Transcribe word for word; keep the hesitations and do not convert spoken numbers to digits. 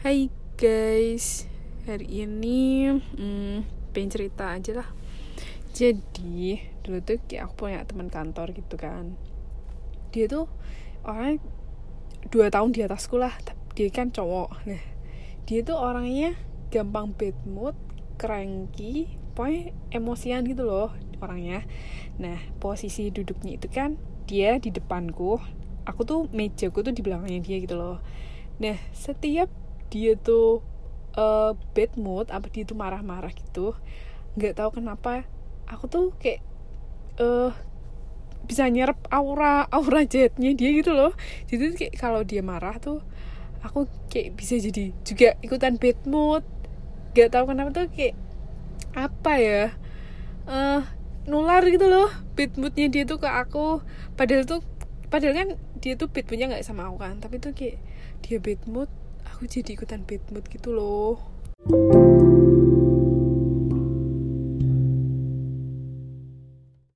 Hai guys, hari ini hmm, pengen cerita aja lah. Jadi dulu tuh kayak aku punya teman kantor gitu kan. Dia tuh orangnya dua tahun di atasku lah. Dia kan cowok. Nah, dia tuh orangnya gampang bad mood, cranky, pokoknya emosian gitu loh orangnya. Nah, posisi duduknya itu kan dia di depanku, aku tuh mejaku tuh di belakangnya dia gitu loh. Nah, setiap dia tuh uh, bad mood, apa dia tuh marah-marah gitu, nggak tahu kenapa aku tuh kayak uh, bisa nyerap aura aura jahatnya dia gitu loh. Jadi kayak kalau dia marah tuh aku kayak bisa jadi juga ikutan bad mood. Nggak tahu kenapa tuh kayak apa ya, uh, nular gitu loh bad moodnya dia tuh ke aku. Padahal tuh padahal kan dia tuh bad moodnya nggak sama aku kan, tapi tuh kayak dia bad mood, aku jadi ikutan bad mood gitu loh.